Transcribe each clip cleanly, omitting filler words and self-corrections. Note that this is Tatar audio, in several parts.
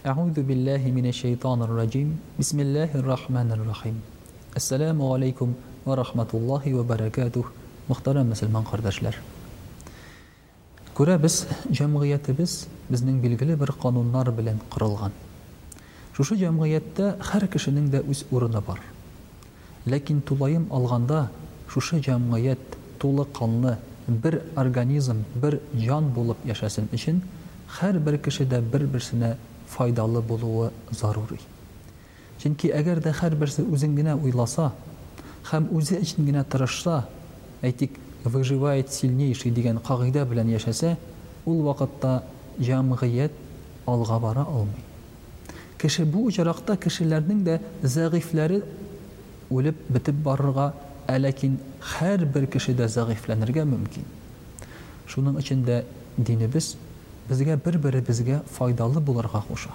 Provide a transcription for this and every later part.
أعوذ بالله من الشيطان الرجيم بسم الله الرحمن الرحيم السلام عليكم ورحمة الله وبركاته Muhtaram Müslüman kardeşler. Күрәбез, җәмгыятебез безнең билгеле бер кануннар белән кырылган. Шушы җәмгыятьтә һәр кешенең дә үз урыны бар. Ләкин тулайым алганда шушы җәмгыять тулы канлы бер организм, бер җан булып яшәсен өчен һәр бер кеше дә бер-берсенә файдалы булуы зарури. Чөнки әгәр дә һәр берсе үзен генә уйласа һәм үзе өчен генә тырышса, әйтик, выживает сильнейший дигән кагыйдә белән яшәсә, ул вакытта җәмгыять алга бара алмый. Кеше бу очракта кешеләрнең дә зәгыйфләре үлеп бетеп барырга, ләкин һәр бер кеше дә зәгыйфләнергә мөмкин. Шуның өчен дә динебез безгә бер-беребезгә файдалы булырга куша.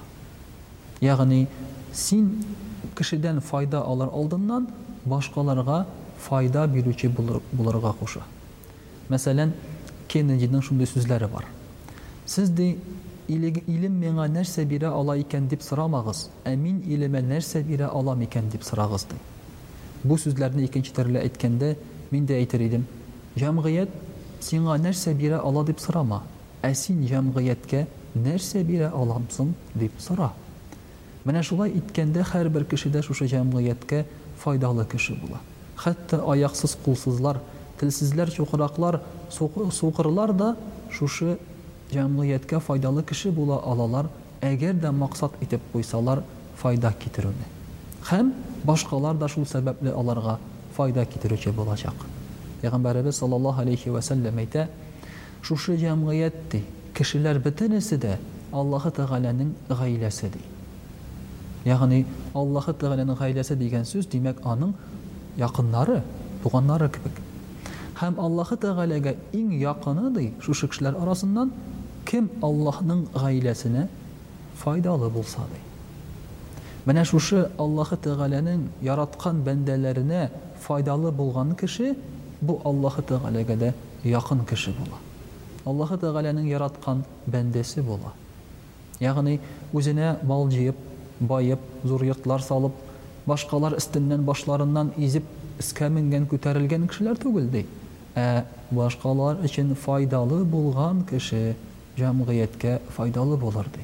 Ягъни син кешедән файда алыр алдыннан башкаларга файда бирүче булырга куша. Мәсәлән, Кеннединың шундый сүзләре бар. Сез ди илем миңа нәрсә бирә ала икән дип сорамагыз, ә мин илемә нәрсә бирә алам икән дип сорагыз ди. Бу сүзләрне икенче төрле әйткәндә мин дә әйтер идем. Җәмгыять сиңа нәрсә бирә ала дип сорама, ә син җәмгыятькә нәрсә бирә аламсың дип сора. Менә шулай иткәндә һәр бер кеше дә шушы җәмгыятькә файдалы кеше була. Хәтта аяксыз, кулсызлар, телсезләр, чукыраклар, суқырлар да шушы җәмгыятькә файдалы кеше була алалар, әгәр дә максат итеп куйсалар файда китерүне. Һәм башкалар да шул сәбәпле аларга файда китерүче булачак. Пәйгамбәрбез саллаллаһу алейхи ва саллям әйтә: "Шушы җәмгыять кешеләр бөтенесе дә Аллаһы Тәгаләнең гаиләсе ди." Ягъни Аллаһы Тәгаләнең гаиләсе дигән сүз димәк аның якыннары, туганнары кебек. Һәм Аллаһы Тәгаләгә иң якыны ди шушы кешеләр арасыннан кем Аллаһның гаиләсенә файдалы булса ди. Менә шушы Аллаһы Тәгаләнең яраткан бәндәләренә файдалы булган кеше бу Аллаһы Тәгаләгә дә якын кеше була. Аллаһы Тәгаләнең яраткан бәндәсе була. Ягъни үзенә мал җыеп, байып, зур йортлар салып, башкалар өстеннән башларыннан изеп, искә менгән, күтәрелгән кешеләр түгел ди. Ә башкалар өчен файдалы булган кеше җәмгыятькә файдалы булыр ди.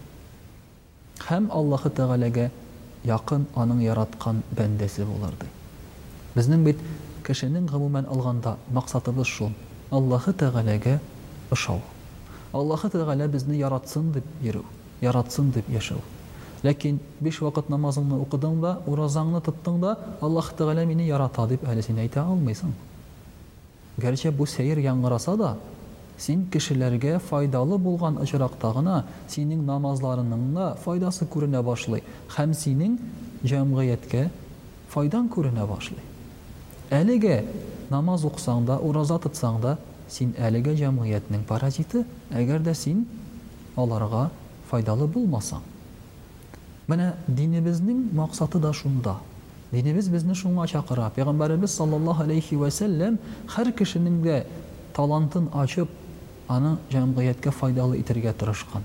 Һәм Аллаһы Тәгаләгә якын аның яраткан бәндәсе булыр ди. Безнең бит кешенең гомумән алганда максатыбыз шул: Аллаһы Тәгаләгә ошау. Аллаһы Тәгалә безне яратсын дип йөрү, яратсын дип яшәү. Ләкин 5 вакыт намазыңны укыдың да, уразаңны тоттың да, Аллаһ Тәгалә мине ярата дип әле син әйтә алмыйсың. Гәрчә бу сәер яңгыраса да, син кешеләргә файдалы булган очракта гына синең намазларының да файдасы күренә башлый, һәм синең җәмгыятькә файдан күренә башлый. Әлегә намаз укысаң да, ураза тотсаң да, син әлегә җәмгыятьнең паразиты, әгәр дә син аларга файдалы булмасаң. Менә динебезнең максаты да шунда. Динебез безне шуңа чакыра. Пәйгамбәрбез саллаллаһу алейхи ва саллям һәр кешенең дә талантын ачып, аны җәмгыятькә файдалы итәргә тырышкан.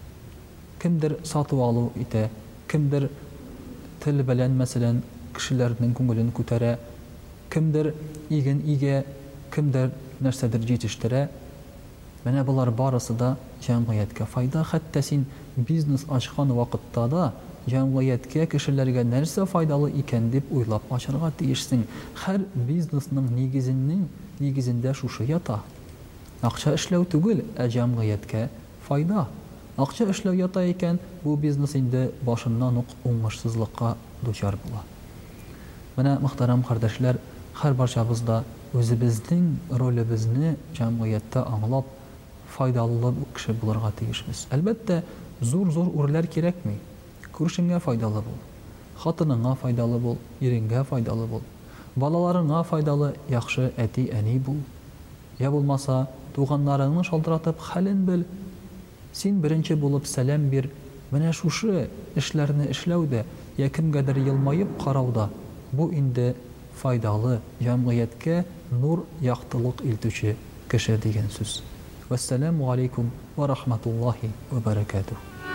Кемдер сатып алу итә, кемдер тел белән мәсәлән кешеләрнең күңелен күтәрә, кемдер иген игә, кемдер нәрсәдер җитештерә. Менә булар барысы да җәмгыятькә файда. Хәтта син бизнес ачкан вакытта да җәмгыятькә, кешеләргә нәрсә файдалы икән дип уйлап ачарга тиешсең. Һәр бизнесның нигезендә шушы ята. Акча эшләү түгел, ә җәмгыятькә файда. Акча эшләү ята икән, бу бизнес инде башыннан ук уңышсызлыкка дучар була. Менә мөхтәрәм кардәшләр, һәр барчабыз да үзебезнең ролебезне җәмгыятьтә аңлап файдалы кеше булырга тиешбез. Әлбәттә, зур-зур үрләр кирәкми. Күршеңгә файдалы бул, хатыныңа файдалы бул, иренгә файдалы бул, балаларыңа файдалы, яхшы әти, әни бул. Я булмаса, туганнарыңны шалтыратып хәлен бел. Син беренче булып сәлам бир. Менә шушы эшләрне эшләүдә, я кемгәдер елмаеп карауда, бу инде файдалы, җәмгыятькә нур, яктылык илтүче кеше дигән сүз. Вассаламу алейкум ва рахматуллахи ва баракатух.